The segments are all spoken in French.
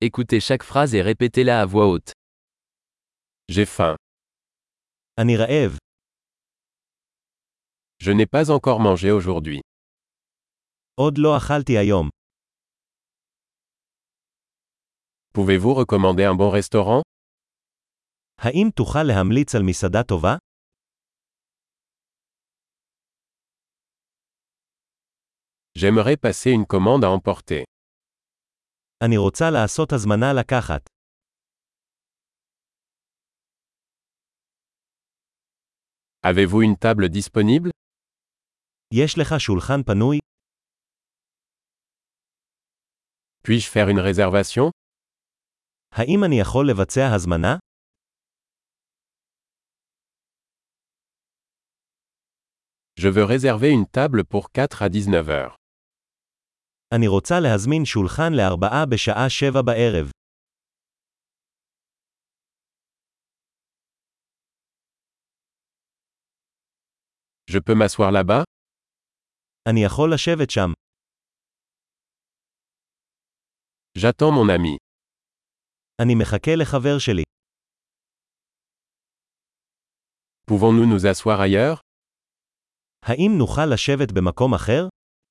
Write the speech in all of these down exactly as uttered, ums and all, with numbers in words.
Écoutez chaque phrase et répétez-la à voix haute. J'ai faim. אני רעב. Je n'ai pas encore mangé aujourd'hui. עוד לא אכלתי היום. Pouvez-vous recommander un bon restaurant? האם תוכל להמליץ על מסעדה טובה? J'aimerais passer une commande à emporter. אני רוצה לעשות הזמנה לקחת. Avez-vous une table disponible? יש לך שולחן פנוי? Puis-je faire une réservation? האם אני יכול לבצע הזמנה? Je veux réserver une table pour quatre à dix-neuf heures. אני רוצה להזמין שולחן לארבעה בשעה שבע בערב. Je peux m'asseoir là-bas? אני יכול לשבת שם. J'attends mon ami. אני מחכה לחבר שלי. Pouvons-nous nous asseoir ailleurs? האם נוכל לשבת במקום אחר?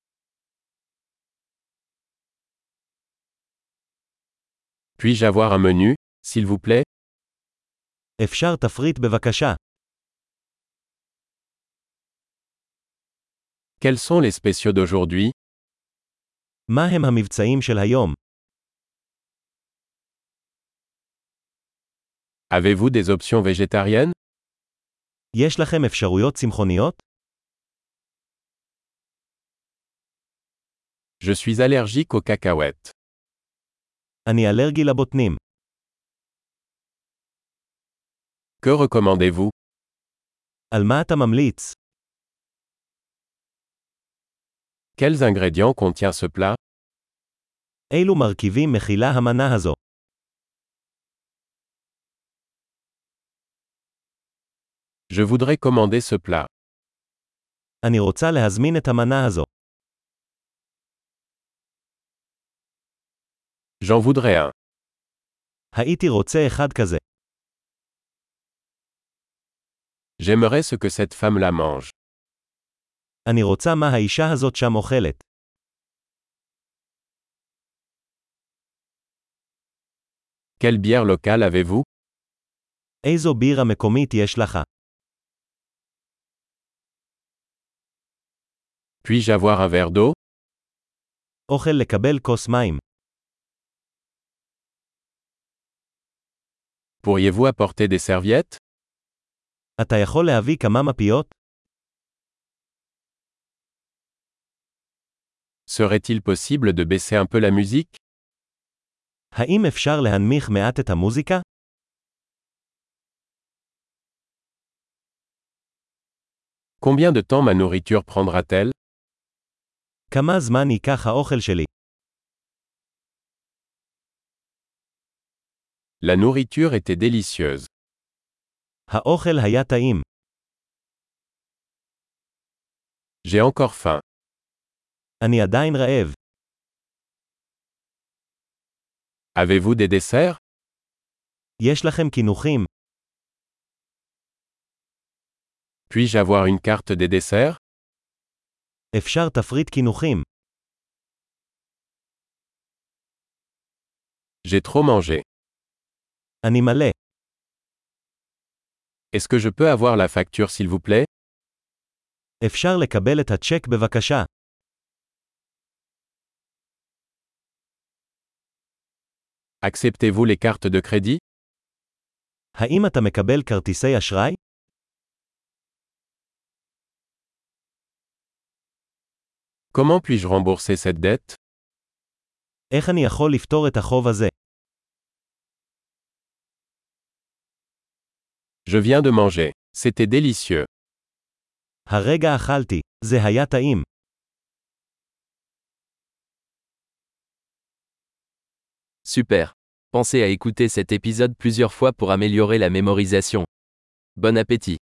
Puis-je avoir un menu, s'il vous plaît? אפשר תפריט בבקשה. Quels sont les spéciaux d'aujourd'hui? מה הם המבצעים של היום? Avez-vous des options végétariennes? יש לכם אפשרויות צמחוניות? Je suis allergique aux cacahuètes. אני אלרגי לבוטנים. Que recommandez-vous? על מה אתה ממליץ? Quels ingrédients contient ce plat? אילו מרכיבים מכילה המנה הזו? Je voudrais commander ce plat. אני רוצה להזמין את המנה הזו. J'en voudrais un. הייתי רוצה אחד כזה. J'aimerais ce que cette femme-là mange. אני רוצה מה האישה הזאת שם אוכלת. Quelle bière locale avez-vous? איזו בירה מקומית יש לך? Puis-je avoir un verre d'eau? אוכל לקבל כוס מים. Pourriez-vous apporter des serviettes? אתה יכול להביא כמה מפיות? Serait-il possible de baisser un peu la musique? האם אפשר להנמיך מעט את המוזיקה? Combien de temps ma nourriture prendra-t-elle? כמה זמן ייקח האוכל שלי? La nourriture était délicieuse. האוכל היה טעים. J'ai encore faim. אני עדיין רעב. Avez-vous des desserts? יש לכם קינוחים? Puis-je avoir une carte des desserts? אפשר תפריט קינוחים. J'ai trop mangé. אני מלא. Est-ce que je peux avoir la facture s'il vous plaît? אפשר לקבל את הצ'ק בבקשה. Acceptez-vous les cartes de crédit? האם אתה מקבל כרטיסי אשראי? Comment puis-je rembourser cette dette? איך אני יכול לפתור את החוב הזה? Je viens de manger. C'était délicieux. הרגע אכלתי. זה היה טעים. Super. Pensez à écouter cet épisode plusieurs fois pour améliorer la mémorisation. Bon appétit.